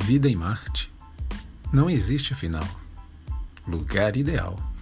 Vida em Marte? Não existe, afinal, lugar ideal.